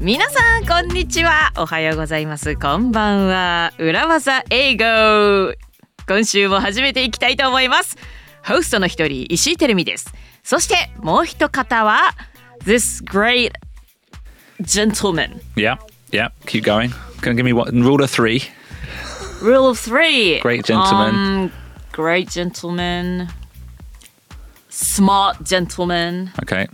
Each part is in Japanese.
皆さんこんにちは、おはようございます、こんばんは。裏技英語、今週も始めていきたいと思います。ホストの一人、石井てるみです。そしてもう一方は This great gentleman. Yeah, keep going. Can you give me what rule of three? Rule of three. Great gentleman. Great gentleman. Smart gentleman. Okay.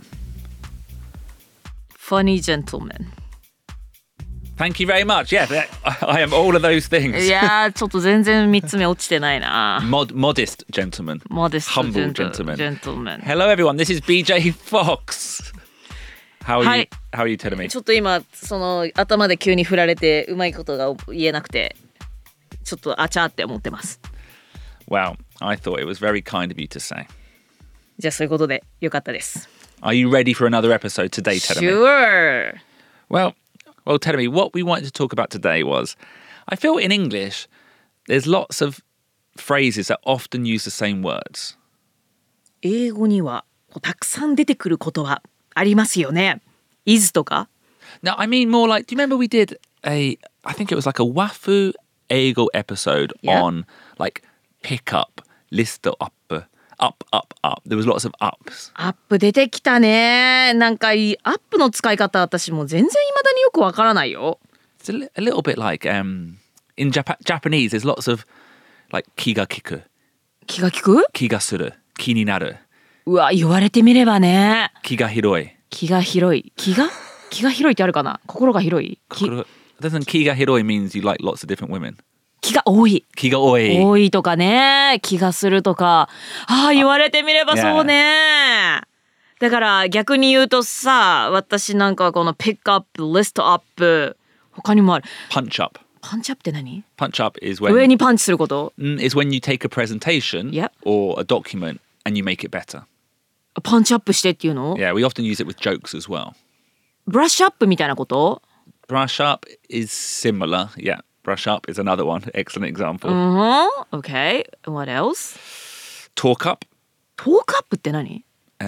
Funny gentleman. Thank you very much. Yeah, I am all of those things. いやー、ちょっと全然3つ目落ちてないな。 Modest gentleman. Modest Humble gentleman. Gentleman. Hello everyone, this is BJ Fox. How are you? How are you telling me? ちょっと今その頭で急に振られてうまいことが言えなくて、ちょっとあちゃーって思ってます。 Well, I thought it was very kind of you to say. じゃあそういうことでよかったです。 Are you ready for another episode today, Telemi? Sure. Well, Telemi, what we wanted to talk about today was, I feel in English, there's lots of phrases that often use the same words. 英語にはたくさん出てくる言葉ありますよね。is とか。 No, I mean more like, do you remember we did I think it was like a Wafu Eigo episode on like pick up, list up. Up. There was lots of ups. アップ出てきたね。なんかアップの使い方私も全然未だによくわからないよ。 It's a little bit like in Japanese there's lots of like 気が利く。 気が利く？ 気がする。気になる。 うわ、言われてみればね。 気が広い。 気が広い。気が広いってあるかな？心が広い。 Doesn't 気が広い means you like lots of different women? 気が多い。 気が多い。 多いとかね。気がするとか。ああ、言われてみればそうね。だから逆に言うとさ、私なんかはこの pick up, list up 他にもある。 punch up. パンチアップって何？ Punch up is when 上にパンチすること？ is when you take a presentation or a document and you make it better. パンチアップしてっていうの？ Yeah, we often use it with jokes as well. ブラッシュアップみたいなこと？ Brush up is similar. Yeah, brush up is another one. Excellent example. Okay. What else? Talk up. Talk up って何？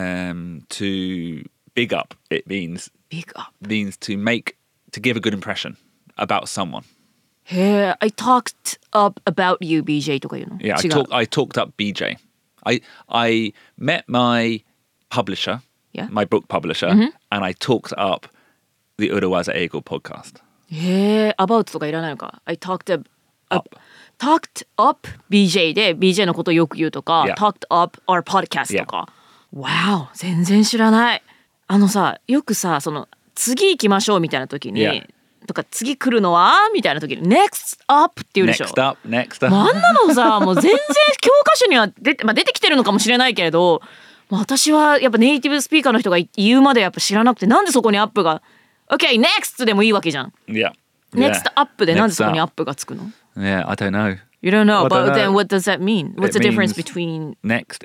To big up, it means Big up. Means to give a good impression about someone. へえ、I talked up about you, BJ とか言うの？ Yeah, 違う。 I talked up BJ. I met my publisher, my book publisher, and I talked up the Urawaza Eigo podcast. へえ、about とかいらないのか。I talked up BJ で BJ のことをよく言うとか、talked up our podcast とか。Wow、全然知らない。さ、よくさ、その次行きましょうみたいな時に、とか次来るのはみたいな時に next up って言うでしょ。 next up。 あんなのさ、もう全然教科書には出てきてるのかもしれないけれど、私はやっぱネイティブスピーカーの人が言うまでやっぱ知らなくて、なんでそこにアップが OK next でもいいわけじゃん。Next up でなんでそこにアップがつくの？ Yeah, I don't know. You don't know, but then what does that mean? What's the difference between next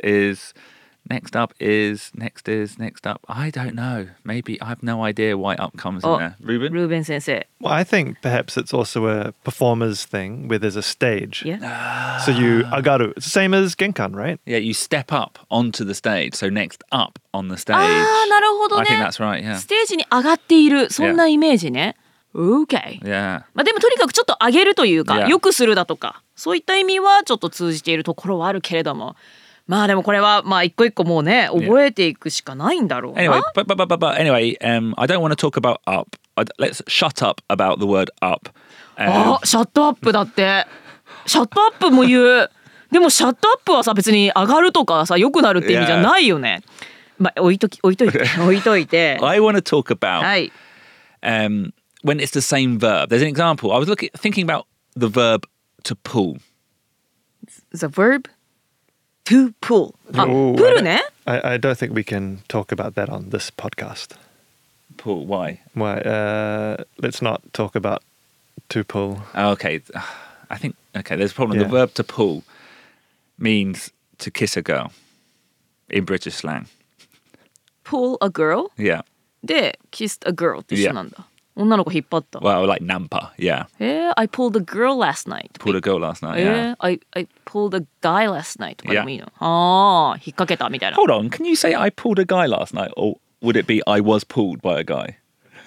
up is next up. I don't know. Maybe I have no idea why up comes in there. Ruben? Ruben 先生。 Well, I think perhaps it's also a performer's thing where there's a stage. Yeah. So you agaru. It's the same as genkan, right? Yeah, you step up onto the stage. So next up on the stage. ああ、なるほどね。 I think that's right, yeah. ステージに上がっている、そんなイメージね。Okay. Yeah. でもとにかくちょっと上げるというか、 Yeah. 良くするだとか、そういった意味はちょっと通じているところはあるけれども、でもこれは一個一個もうね、覚えていくしかないんだろうな。 Anyway, but anyway, I don't want to talk about up. Let's shut up about the word up. シャットアップだって。シャットアップも言う。でもシャットアップはさ、別に上がるとかさ、良くなるって意味じゃないよね。置いといて。 I want to talk about はい。 when it's the same verb. There's an example. I was thinking about the verb to pull. The verb to pull. あ、 Ooh, プルね。 I don't think we can talk about that on this podcast. Pull, why? Why? Let's not talk about to pull. Okay, I think, there's a problem. Yeah. The verb to pull means to kiss a girl in British slang. Pull a girl? Yeah. で、kissed a girl って一緒なんだ。女の子引っ張った。 Well, like nampa, yeah. I pulled a girl last night. Pulled a girl last night, yeah. I pulled a guy last night とかでもいいの。ああ、引っ掛けたみたいな。 Hold on, can you say I pulled a guy last night? Or would it be I was pulled by a guy?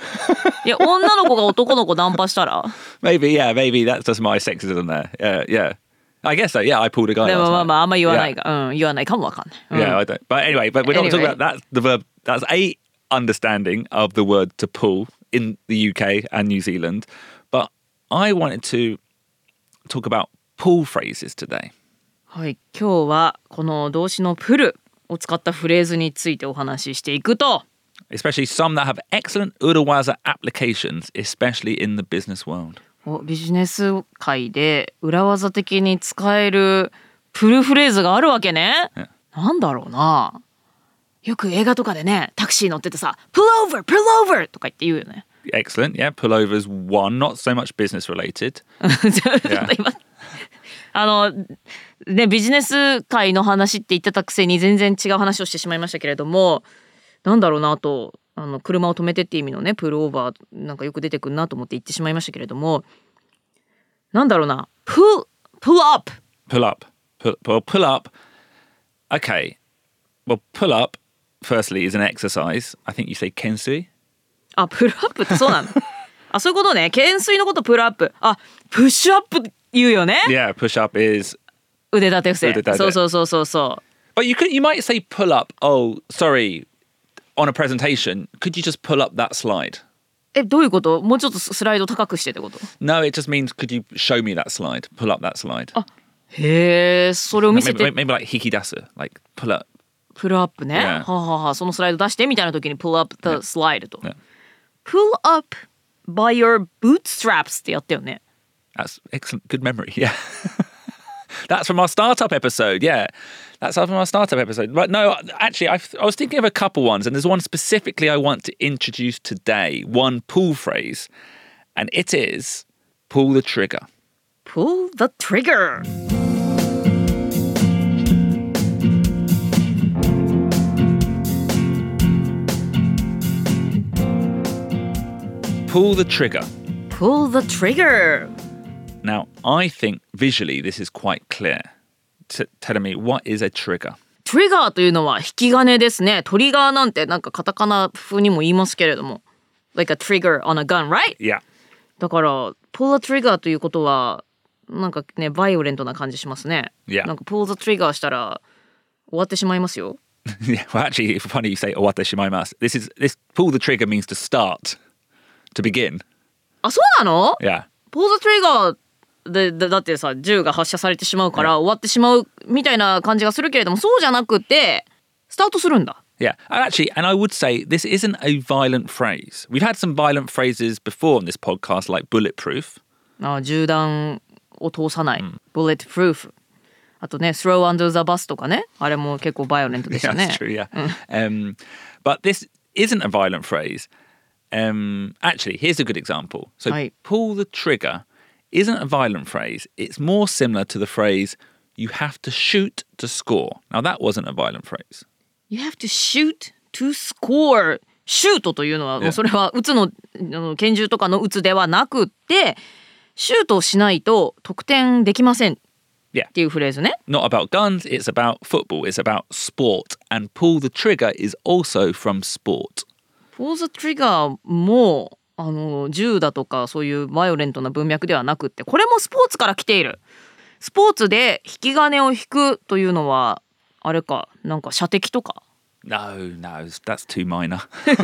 いや女の子が男の子ナンパしたら Maybe that's just my sexism there. Yeah. I guess so. Yeah, I pulled a guy でも last まあ night. まああんま言わない Yeah. が、言わないかもわかんない、 Yeah, I don't. But anyway, but we're not talking Anyway. about that's the verb. That's a understanding of the word to pull in the UK and New Zealand. But I wanted to talk about pull phrases today. はい、今日はこの動詞のプルを使ったフレーズについてお話ししていくと、 Especially some that have excellent Urawaza applications, especially in the business world. ビジネス界で裏技的に使えるプルフレーズがあるわけね。なんだろうな。よく映画とかでね、タクシー乗っててさ、pull over, pull over とか言って言うよね。 Excellent. Yeah, pullovers one, not so much business related. 今ね、ビジネス界の話って言ってたくせに全然違う話をしてしまいましたけれども、なんだろうなと、車を止めてって意味のね、プルオーバーなんかよく出てくるなと思って言ってしまいましたけれども、なんだろうな、pull up. Pull up. Pull up. Okay. Well, pull up, firstly, is an exercise. I think you say kensui. あ、プルアップってそうなのあ、そういうことね。懸垂のことプルアップ。あ、プッシュアップ言うよね。 Yeah, push up is 腕立て伏せ。 腕立て。 そう。 But you might say pull up. Oh, sorry. On a presentation, could you just pull up that slide? どういうこと？もうちょっとスライド高くしてってこと？ No, it just means could you show me that slide? Pull up that slide. へえ、それを見せて。 Maybe like hikidasu, like pull up. プルアップね。 Yeah. はあ、そのスライド出してみたいな時に pull up the slide と。 Yeah. pull up by your bootstraps ってやったよね。 That's excellent. Good memory. Yeah. That's from our startup episode. Yeah. That's from our startup episode. But no, actually, I was thinking of a couple ones, and there's one specifically I want to introduce today. One pull phrase, and it is pull the trigger. pull the trigger. Pull the trigger. pull the trigger. Now, I think visually this is quite clear. Telling me what is a trigger. トリガーというのは引き金ですね。トリガーなんてなんかカタカナ風にも言いますけれども。Like a trigger on a gun, right? Yeah. だから、pull the trigger ということは、なんかね、バイオレントな感じしますね。 Yeah. なんか pull the trigger したら終わってしまいますよ。 Yeah. Well, actually, funny you say "owate shimaimasa." This pull the trigger means to start, to begin. あ、そうなの？ Yeah. pull the trigger だってさ、銃が発射されてしまうから終わってしまうみたいな感じがするけれども、そうじゃなくて、スタートするんだ。 Yeah, and I would say this isn't a violent phrase. We've had some violent phrases before on this podcast, like bulletproof. 銃弾を通さない、bulletproof。あとね、throw under the bus とかね、あれも結構バイオレントでした Yeah, ね。 that's true. Yeah, but this isn't a violent phrase. Actually, here's a good example. So, Right. pull the trigger isn't a violent phrase. It's more similar to the phrase "you have to shoot to score." Now, that wasn't a violent phrase. You have to shoot to score. シュートというのは、もうそれは撃つの拳銃とかの撃つではなくって、シュートをしないと得点できません Yeah. っていうフレーズね。 Not about guns, it's about football, it's about sport. And pull the trigger is also from sport. pull the trigger も銃だとかそういうバイオレントな文脈ではなくって、これもスポーツから来ている。スポーツで引き金を引くというのはあれか、なんか射的とか。 No, that's too minor.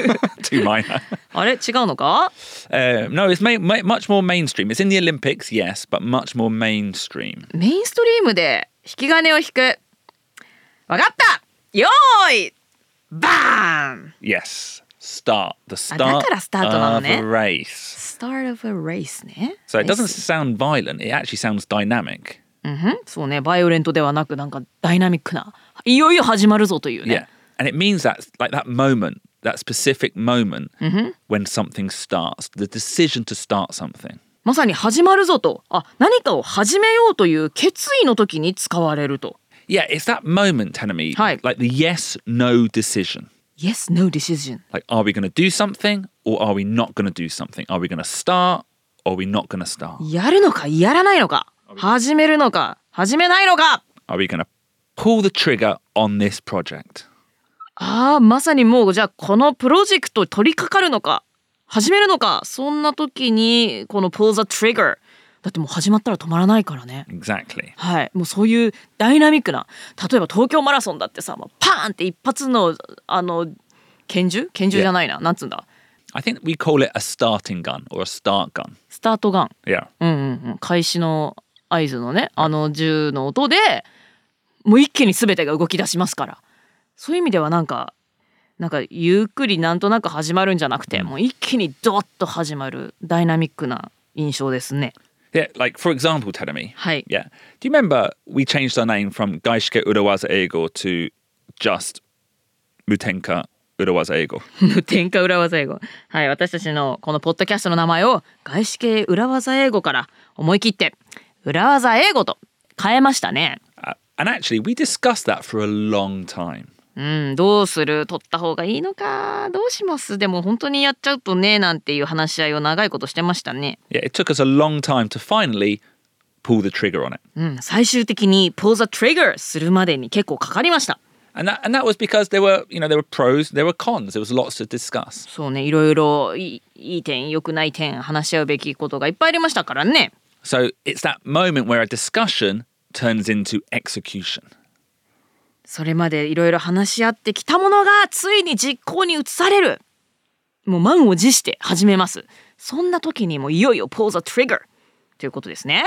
Too minor. あれ違うのか？ No, it's much more mainstream. It's in the Olympics, yes, but much more mainstream. メインストリームで引き金を引く。わかった。よーい。バーン。 Yes, start. The start だからスタートなのね。 of a race. Start of a race ね。 So it doesn't sound violent, it actually sounds dynamic. そうね、バイオレントではなくなんかダイナミックな、いよいよ始まるぞというね。 Yeah. And it means that, like that moment, that specific moment when something starts, the decision to start something. まさに始まるぞと、何かを始めようという決意の時に使われると。 Yeah, it's that moment, Tanami, はい。 like the yes-no decision. Yes, no decision. Like, are we going to do something or are we not going to do something? Are we going to start or are we not going to start? やるのかやらないのか、始めるのか始めないのか。 Are we going to pull the trigger on this project? まさにもうじゃあこのプロジェクト取り掛かるのか始めるのか、そんな時にこの pull the trigger、だってもう始まったら止まらないからね。 Exactly. はい、もうそういうダイナミックな、例えば東京マラソンだってさ、もうパーンって一発の拳銃じゃないな、なんつうんだ、 I think we call it a starting gun or a start gun. スタートガン、 Yeah. 開始の合図のね、銃の音でもう一気に全てが動き出しますから、そういう意味ではなんかゆっくりなんとなく始まるんじゃなくて、もう一気にドッと始まるダイナミックな印象ですね。 Yeah, like for example, Terumi. はい。 Yeah. Do you remember we changed our name from Gaishike Urawaza Eigo to just Mutenka Urawaza Eigo? 無添加裏技英語。はい、私たちのこのポッドキャストの名前を外資系裏技英語から思い切って裏技英語と変えましたね。 And actually, we discussed that for a long time. どうする、取った方がいいのか、どうします、でも本当にやっちゃうとね、なんていう話し合いを長いことしてましたね。 Yeah, it took us a long time to finally pull the trigger on it. 最終的に pull the trigger するまでに結構かかりました。 And that was because there were pros, there were cons, there was lots to discuss. そうね、いろいろいい点良くない点話し合うべきことがいっぱいありましたからね。 So it's that moment where a discussion turns into execution. それまでいろいろ話し合ってきたものがついに実行に移される。もう満を持して始めます。そんな時にもいよいよ pull the trigger ということですね。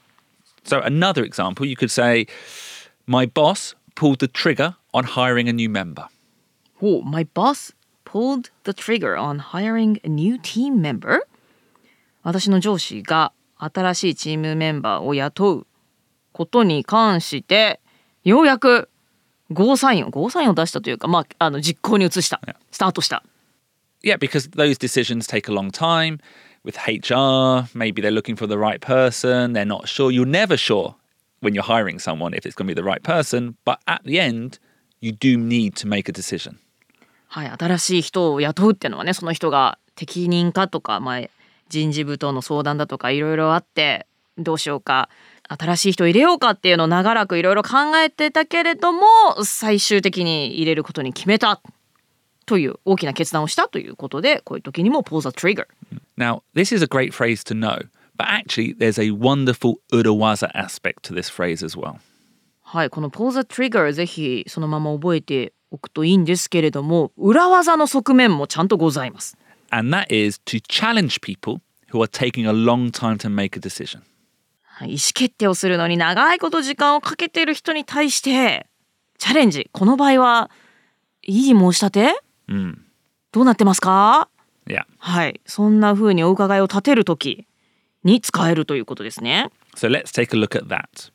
So another example, you could say, my boss pulled the trigger on hiring a new member. My boss pulled the trigger on hiring a new team member. 私の上司が新しいチームメンバーを雇うことに関してようやくゴーサインを出したというか、実行に移した、スタートした。 Yeah, because those decisions take a long time. With HR, maybe they're looking for the right person. They're not sure. You're never sure when you're hiring someone if it's going to be the right person. But at the end, you do need to make a decision. はい、新しい人を雇うっていうのはね、その人が適任かとか、人事部との相談だとかいろいろあって、どうしようか、新しい人を入れようかっていうのを長らくいろいろ考えてたけれども、最終的に入れることに決めたという大きな決断をしたということで、こういう時にも pull the trigger. Now, this is a great phrase to know, but actually there's a wonderful urawaza aspect to this phrase as well. はい、この pull the trigger ぜひそのまま覚えておくといいんですけれども、裏技の側面もちゃんとございます。 And that is to challenge people who are taking a long time to make a decision. 意思決定をするのに長いこと時間をかけている人に対してチャレンジ、この場合は異議申し立て、どうなってますか？ Yeah. はい、そんな風にお伺いを立てるときに使えるということですね。 So let's take a look at that.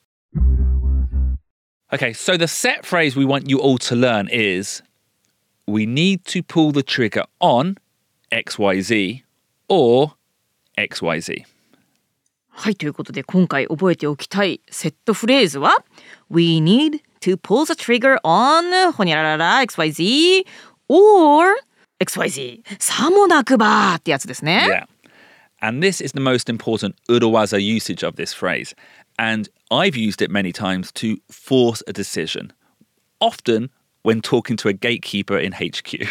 Okay, so the set phrase we want you all to learn is we need to pull the trigger on XYZ or XYZ. はい、ということで今回覚えておきたいセットフレーズは We need to pull the trigger on ほにゃららら XYZ or XYZ さもなくばってやつですね。 Yeah. And this is the most important urawaza usage of this phrase. And I've used it many times to force a decision, often when talking to a gatekeeper in HQ.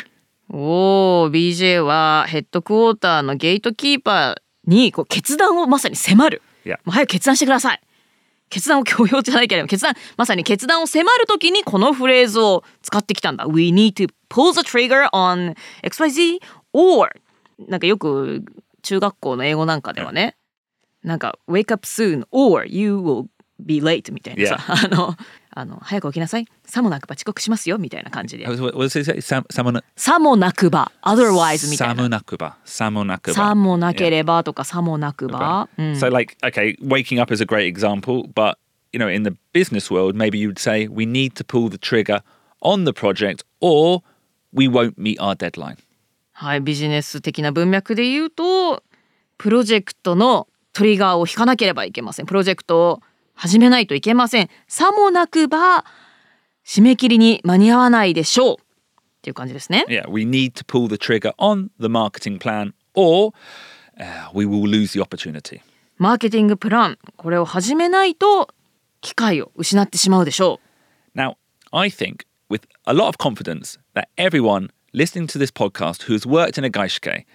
BJ はヘッドクォーターのゲートキーパーにこう決断をまさに迫る。 Yeah. もう早く決断してください。決断を強要じゃないけれどまさに決断を迫るときにこのフレーズを使ってきたんだ。We need to pull the trigger on XYZ or なんかよく中学校の英語なんかではね、なんか wake up soon or you will be late みたいなさ、早く起きなさい、さもなくば遅刻しますよみたいな感じで、 What does it say? さもなくば otherwise みたいな、 さもなければとかさもなくば、 So like, okay, waking up is a great example, but you know, in the business world, maybe you would say we need to pull the trigger on the project or we won't meet our deadline. はい、ビジネス的な文脈で言うとプロジェクトのトリガーを引かなければいけません。プロジェクトを始めないといけません。さもなくば締め切りに間に合わないでしょうっていう感じですね。 Yeah, we need to pull the trigger on the marketing plan or we will lose the opportunity. マーケティングプラン、これを始めないと機会を失ってしまうでしょう。 Now, I think with a lot of confidence that everyone listening to this podcast who's worked in a gaishike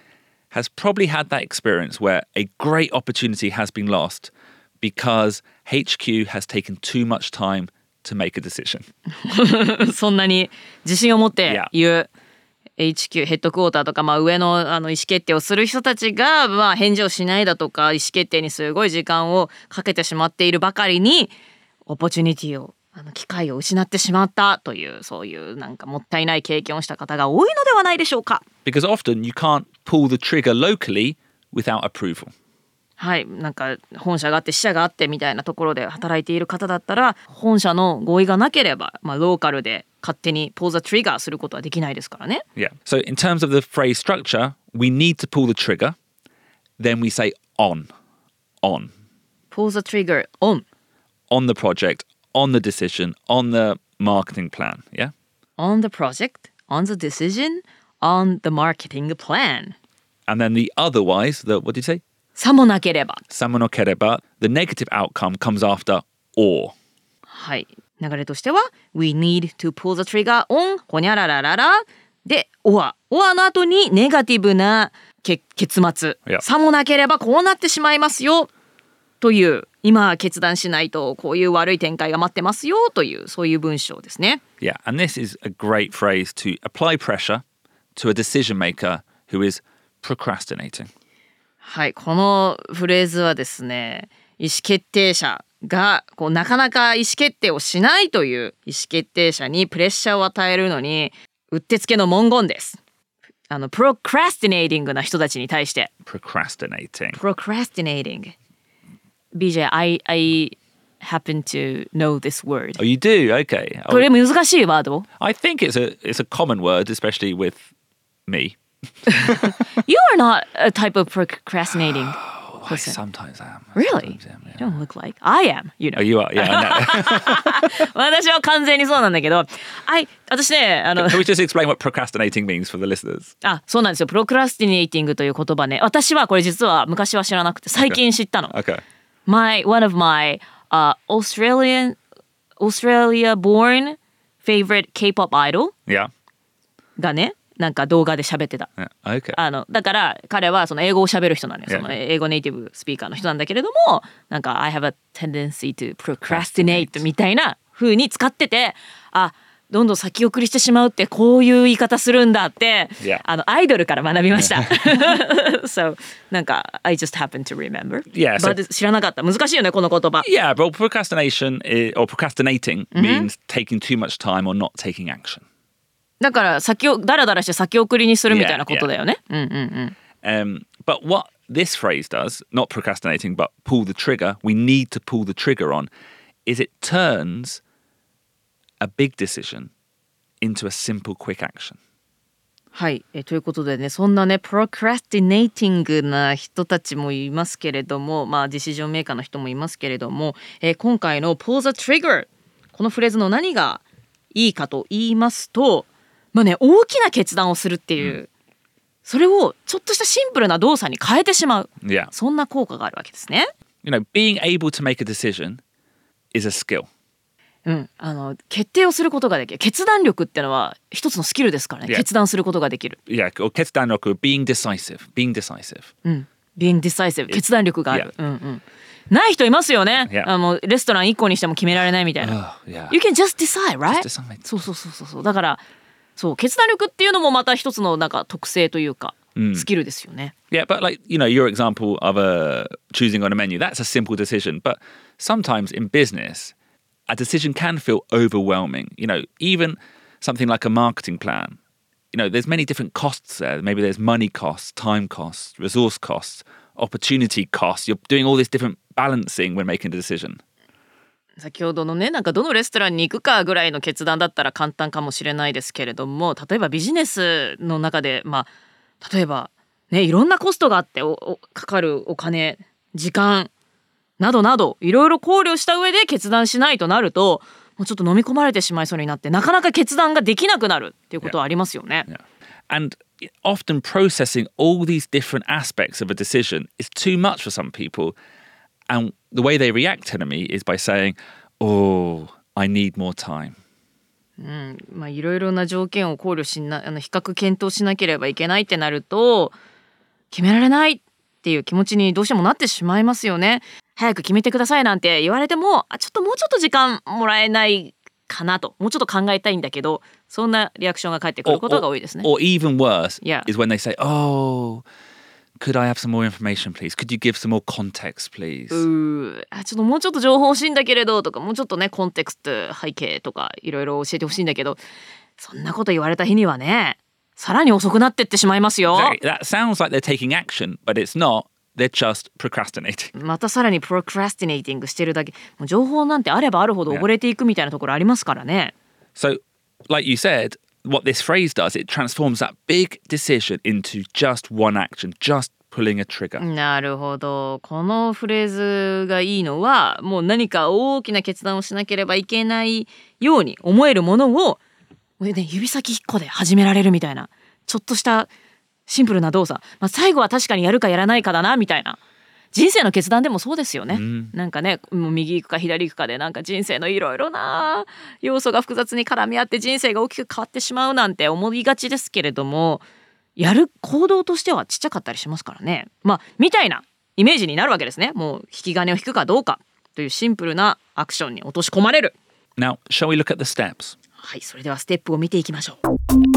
has probably had that experience where a great opportunity has been lost because HQ has taken too much time to make a decision. そんなに自信を持って言う Yeah. HQ ヘッドクォーターとか、上の、意思決定をする人たちが、返事をしないだとか意思決定にすごい時間をかけてしまっているばかりにオポチュニティを機会を失ってしまったというそういうなんかもったいない経験をした方が多いのではないでしょうか。 Because often you can't pull the trigger locally without approval. はい、なんか本社があって支社があってみたいなところで働いている方だったら本社の合意がなければ、ローカルで勝手にpull the triggerすることはできないですからね。 Yeah. So in terms of the phrase structure, we need to pull the trigger. Then we say on. pull the trigger on On the project, on the decision, on the marketing plan. Yeah? on the project, on the decision, on the marketing plan. And then the otherwise, what did you say? さもなければ。 Samanokereba, the negative outcome comes after or. はい。流れとしては We need to pull the trigger on ほにゃららららで or の後にネガティブな結末、 Yeah. さもなければこうなってしまいますよという今決断しないとこういう悪い展開が待ってますよというそういう文章ですね。 Yeah, and this is a great phrase to apply pressure to a decision maker who is procrastinating. はい、このフレーズはですね、意思決定者がなかなか意思決定をしないという意思決定者にプレッシャーを与えるのにうってつけの文言です。プロクラスティネーティングな人たちに対して。 Procrastinating. Procrastinating. BJ, I happen to know this word. Oh, you do? Okay. これ難しいワード？ I think it's a common word, especially with me. You are not a type of procrastinating I person. sometimes am. Really? Sometimes am, You yeah. don't look like. I am, you know. Oh, you are? Yeah, I know. 私は完全にそうなんだけど、私ね、 Can we just explain what procrastinating means for the listeners? そうなんですよ。プロクラスティネイティングという言葉ね。私はこれ実は昔は知らなくて最近知ったの。 Okay. One of my Australia born favorite K-pop idol Yeah. がね、なんか動画で喋ってた。 Yeah. Okay. だから彼はその英語を喋る人なんですよ。 Yeah. その英語ネイティブスピーカーの人なんだけれども、なんか I have a tendency to procrastinate みたいな風に使ってて、どんどん先送りしてしまうってこういう言い方するんだって、 Yeah. アイドルから学びました。So なんか I just happen to remember. Yeah, so- But 知らなかった。難しいよねこの言葉。 Yeah, but or procrastinating means taking too much time or not taking action. だからダラダラして先送りにするみたいなことだよね。 But what this phrase does, not procrastinating, but pull the trigger, we need to pull the trigger on, is it turns a big decision into a simple, quick action. はい、ということでね、そんなねプロクラスティネイティングな人たちもいますけれども、ディシジョンメーカーの人もいますけれども、今回の pull the trigger このフレーズの何がいいかと言いますと、大きな決断をするっていう、それをちょっとしたシンプルな動作に変えてしまう、 Yeah. そんな効果があるわけですね。 You know, being able to make a decision is a skill. 決定をすることができる。決断力ってのは一つのスキルですからね。 Yeah. 決断することができる。 Yeah, or ketsudanroku, being decisive. being decisive 決断力がある、ない人いますよね、 Yeah. レストラン1個にしても決められないみたいな、 Yeah. You can just decide, right? Just decide. そうだからそう決断力っていうのもまた一つのなんか特性というか、スキルですよね。 Yeah, but like, you know, your example of choosing on a menu, that's a simple decision. But sometimes in business, a decision can feel overwhelming. You know, even something like a marketing plan, you know, there's many different costs there. Maybe there's money costs, time costs, resource costs, opportunity costs. You're doing all this different balancing when making a decision. 先ほどのねなんかどのレストランに行くかぐらいの決断だったら簡単かもしれないですけれども、例えばビジネスの中で例えばねいろんなコストがあってかかるお金時間などなどいろいろ考慮した上で決断しないとなるともうちょっと飲み込まれてしまいそうになってなかなか決断ができなくなるっていうことはありますよね。 Yeah. And often processing all these different aspects of a decision is too much for some people. And the way they react to me is by saying, "Oh, I need more time." いろいろな条件を考慮比較検討しなければいけないってなると決められないっていう気持ちにどうしてもなってしまいますよね。早く決めてくださいなんて言われても、もうちょっと時間もらえないかなと、もうちょっと考えたいんだけど、そんなリアクションが返ってくることが多いですね。 Or even worse Yeah. is when they say, "Oh, could I have some more information, please? Could you give some more context, please?" もうちょっと情報欲しいんだけれどとか、もうちょっとねコンテクスト背景とかいろいろ教えてほしいんだけど、そんなこと言われた日にはね、さらに遅くなってってしまいますよ。 That sounds like they're taking action, but it's not. They're just procrastinating. またさらにプロクラスティネイティングしてるだけ。もう情報なんてあればあるほど溺れていくみたいなところありますからね。 So, like you said, what this phrase does, it transforms that big decision into just one action, just pulling a trigger. なるほど。このフレーズがいいのは、もう何か大きな決断をしなければいけないように思えるものを、もうね、指先1個で始められるみたいな、ちょっとしたシンプルな動作、最後は確かにやるかやらないかだなみたいな。人生の決断でもそうですよね。なんかね、もう右行くか左行くかで、なんか人生のいろいろな要素が複雑に絡み合って人生が大きく変わってしまうなんて思いがちですけれども、やる行動としてはちっちゃかったりしますからね。みたいなイメージになるわけですね。もう引き金を引くかどうかというシンプルなアクションに落とし込まれる。 Now, shall we look at the steps? はい、それではステップを見ていきましょう。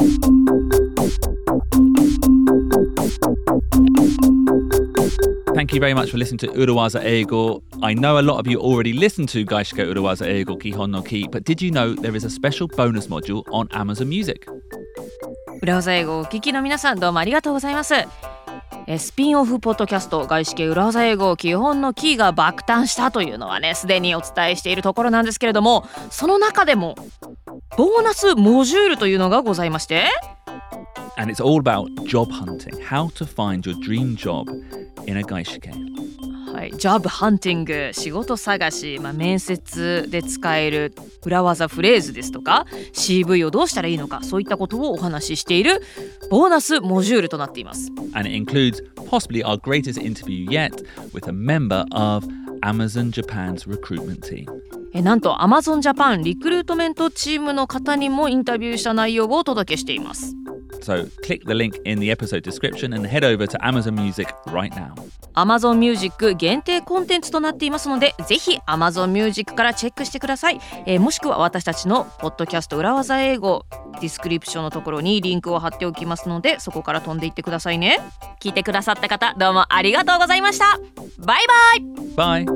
Thank you very much for listening to Urawaza Eigo. I know a lot of you already listened to Gaishika Urawaza Eigo Kihon no Ki, but did you know there is a special bonus module on Amazon Music? 裏技英語をお聞きの皆さん、どうもありがとうございます。スピンオフポッドキャスト外資系裏技英語基本のキーが爆誕したというのはね、すでにお伝えしているところなんですけれども、その中でもボーナスモジュールというのがございまして、 And it's all about job hunting, how to find your dream job in a gaishike. はい、ジョブハンティング、仕事探し、面接で使える裏技フレーズですとか CV をどうしたらいいのか、そういったことをお話ししているボーナスモジュールとなっています。 And it includes possibly our greatest interview yet with a member of Amazon Japan's recruitment team. なんと Amazon Japan リクルートメントチームの方にもインタビューした内容をお届けしています。 So click the link in the episode description and head over to Amazon Music right now. Amazon Music 限定コンテンツとなっていますので、ぜひ Amazon Music からチェックしてください。もしくは私たちのポッドキャスト裏技英語ディスクリプションのところにリンクを貼っておきますので、そこから飛んでいってくださいね。聞いてくださった方、どうもありがとうございました。バイバイ。 Bye.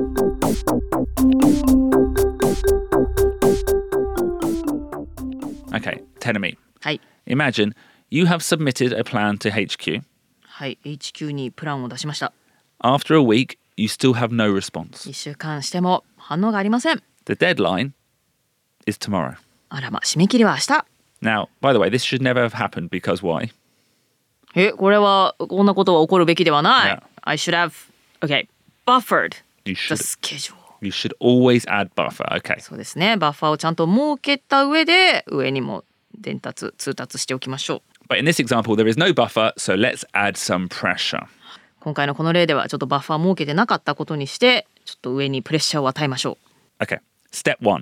Okay, Tenemi. はい。 Imagine you have submitted a plan to HQ. はい、HQ にプランを出しました。 After a week, you still have no response. 1週間しても反応がありません。 The deadline is tomorrow. あら締め切りは明日。 Now, by the way, this should never have happened because why? これはこんなことは起こるべきではない。 Yeah. I should have, buffered You the should schedule. you should always add buffer. Okay. そうですね。バッファーをちゃんと設けた上で上にも通達しておきましょう。 But in this example, there is no buffer, so let's add some pressure. 今回のこの例ではちょっとバッファー設けてなかったことにして、ちょっと上にプレッシャーを与えましょう。 Okay. Step 1.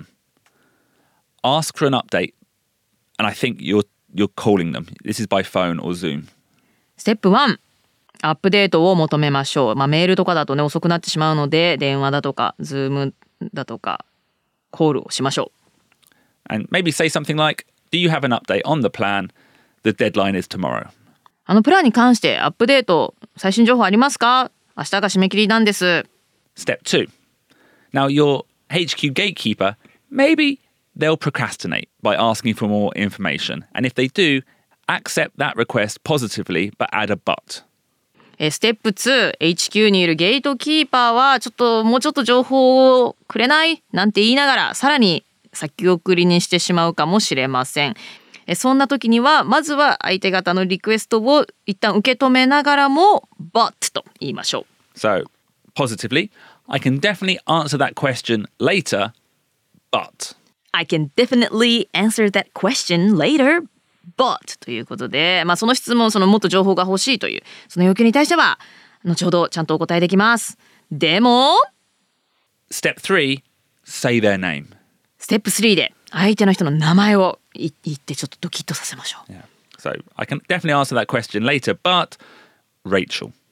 Ask for an update. And I think you're calling them. This is by phone or Zoom. ステップ1、アップデートを求めましょう。メールとかだとね遅くなってしまうので、電話だとか Zoom だとかコールをしましょう。 And maybe say something like, do you have an update on the plan? The deadline is tomorrow. プランに関してアップデート、最新情報ありますか？明日が締め切りなんです。 Step 2. Now, your HQ gatekeeper, maybe they'll procrastinate by asking for more information. And if they do, accept that request positively, but add a but. ステップ2、HQ にいるゲートキーパーはもうちょっと情報をくれないなんて言いながら、さらに先送りにしてしまうかもしれません。そんな時にはまずは相手方のリクエストを一旦受け止めながらも but と言いましょう。 So, positively, I can definitely answer that question later, but. I can definitely answer that question later, but ということで、その質問、もっと情報が欲しいというその要求に対しては後ほどちゃんとお答えできます。でも Step 3, say their name. ステップ3で相手の人の名前を言ってちょっとドキッとさせましょう。 Yeah. So, I can definitely answer that question later, but Rachel.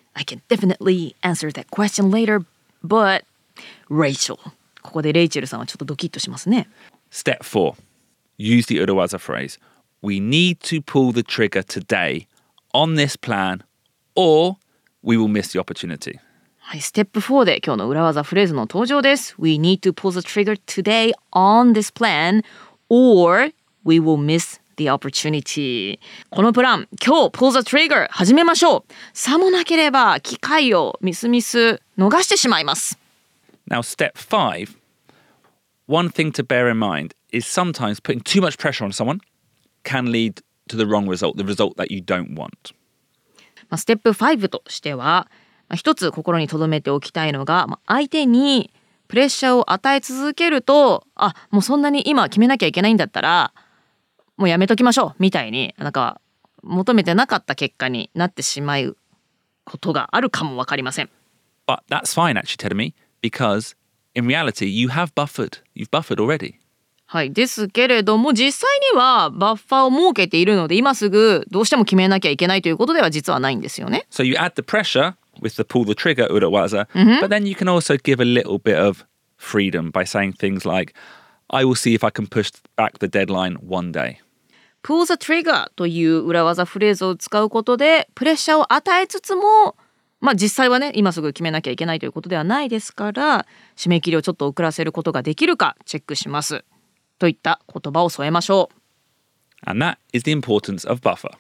I can definitely answer that question later, but Rachel. ここでレイチェルさんはちょっとドキッとしますね。 Step 4. Use the Urawaza phrase. We need to pull the trigger today on this plan or we will miss the opportunity. はい、ステップ4で今日の裏技フレーズの登場です。We need to pull the trigger today on this plan or we will miss the opportunity. このプラン、今日 pull the trigger 始めましょう。さもなければ機会をミス逃してしまいます。 Now, step 5. One thing to bear in mind is sometimes putting too much pressure on someone can lead to the wrong result, the result that you don't want. ステップ5としては、一つ心に留めておきたいのが、相手にプレッシャーを与え続けると、もうそんなに今決めなきゃいけないんだったら、もうやめときましょうみたいに、なんか求めてなかった結果になってしまうことがあるかもわかりません。 But that's fine actually, Terumi, because in reality you have buffered. You've buffered already. はい、ですけれども実際にはバッファーを設けているので今すぐどうしても決めなきゃいけないということでは実はないんですよね。 So you add the pressure with the pull the trigger urawaza, but then you can also give a little bit of freedom by saying things like, I will see if I can push back the deadline one day. Pull the trigger という裏技フレーズを使うことでプレッシャーを与えつつも実際はね今すぐ決めなきゃいけないということではないですから締め切りをちょっと遅らせることができるかチェックしますといった言葉を添えましょう。 And that is the importance of buffer.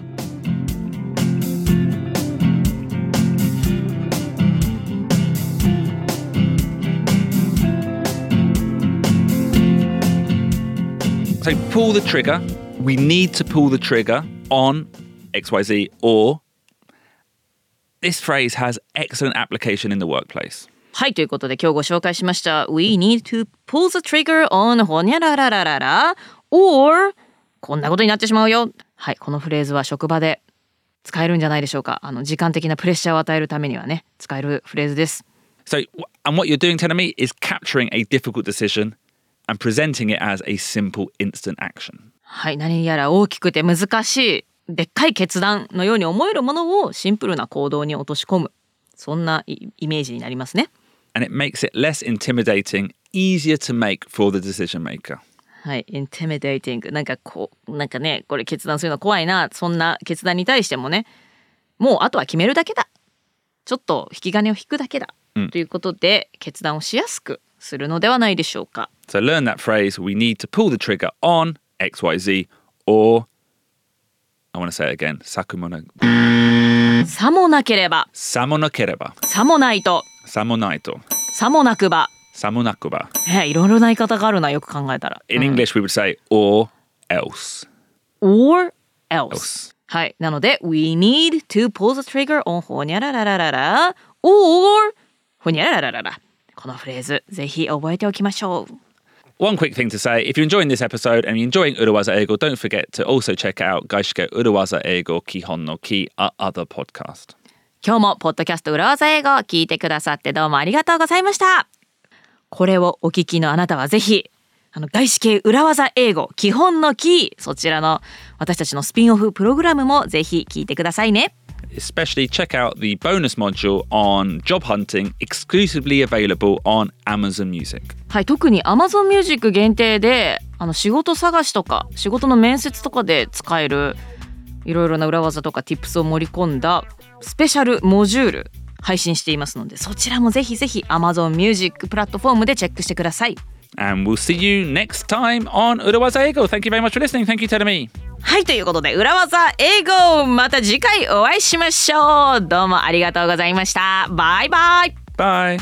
So pull the trigger. We need to pull the trigger on XYZ or this phrase has excellent application in the workplace. はい、ということで今日ご紹介しました We need to pull the trigger on ほにゃららららら or こんなことになってしまうよ。はい、このフレーズは職場で使えるんじゃないでしょうか。時間的なプレッシャーを与えるためにはね使えるフレーズです。 So, and what you're doing, Terumi, is capturing a difficult decision and presenting it as a simple instant action. はい、何やら大きくて難しいでっかい決断のように思えるものをシンプルな行動に落とし込むそんなイメージになりますね。 And it makes it less intimidating, easier to make for the decision maker. はい、intimidating なんかねこれ決断するの怖いなそんな決断に対してもねもうあとは決めるだけだちょっと引き金を引くだけだ、ということで決断をしやすくするのではないでしょうか。 So learn that phrase, we need to pull the trigger on XYZ or I want to say it again, さもなければさもなければさもないとさもないとさもなくばさもなくばいろいろな言い方があるなよく考えたら In English we would say or else or else はい、なので We need to pull the trigger on ほにゃららららら or ほにゃらららららこのフレーズぜひ覚えておきましょう。 One quick thing to say, if you're enjoying this episode and you're enjoying Urawaza Eigo, don't forget to also check out Gaishike Urawaza Eigo Kihon no Ki, our other podcast. 今日もポッドキャスト裏技英語を聞いてくださってどうもありがとうございました。これをお聞きのあなたはぜひ外資系裏技英語基本のキーそちらの私たちのスピンオフプログラムもぜひ聞いてくださいね。 Especially check out the bonus module on job hunting, exclusively available on Amazon Music. はい、特に Amazon Music 限定で仕事探しとか仕事の面接とかで使えるいろいろな裏技とか Tips を盛り込んだスペシャルモジュール配信していますのでそちらもぜひぜひ Amazon Music プラットフォームでチェックしてください。 And we'll see you next time on Urawaza Eigo. Thank you very much for listening. Thank you, Terumi. はい、ということで裏技英語また次回お会いしましょう。どうもありがとうございました。バイバイ。 Bye.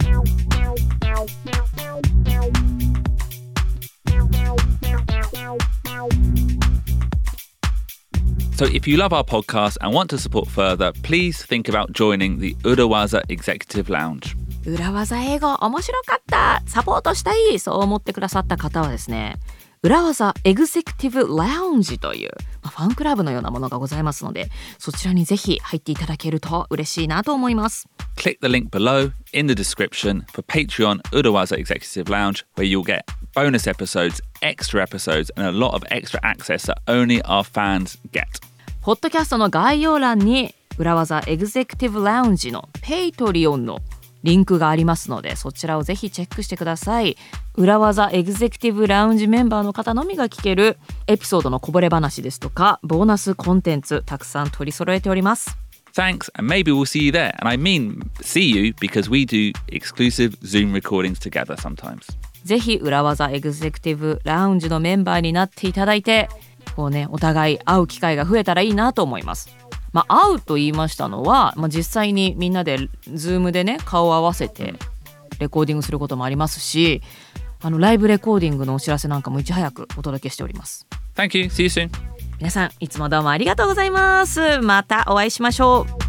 So if you love our podcast and want to support further, please think about joining the Urawaza Executive Lounge. 裏技英語面白かったサポートしたいそう思ってくださった方はですね裏技エグゼクティブラウンジという、ファンクラブのようなものがございますのでそちらにぜひ入っていただけると嬉しいなと思います。 Click the link below in the description for Patreon Urawaza Executive Lounge where you'll get bonus episodes, extra episodes and a lot of extra access that only our fans get. ポッドキャストの概要欄に裏技エグゼクティブラウンジのペイトリオンのリンクがありますので、そちらをぜひチェックしてください。裏技エグゼクティブラウンジメンバーの方のみが聞けるエピソードのこぼれ話ですとか、ボーナスコンテンツたくさん取り揃えております。 Thanks, and maybe we'll see you there. And I mean see you because we do exclusive Zoom recordings together sometimes. ぜひ裏技エグゼクティブラウンジのメンバーになっていただいて、こうね、お互い会う機会が増えたらいいなと思います。会うと言いましたのは、実際にみんなで Zoom でね、顔を合わせてレコーディングすることもありますし、ライブレコーディングのお知らせなんかもいち早くお届けしております。 Thank you. See you soon. 皆さんいつもどうもありがとうございます。またお会いしましょう。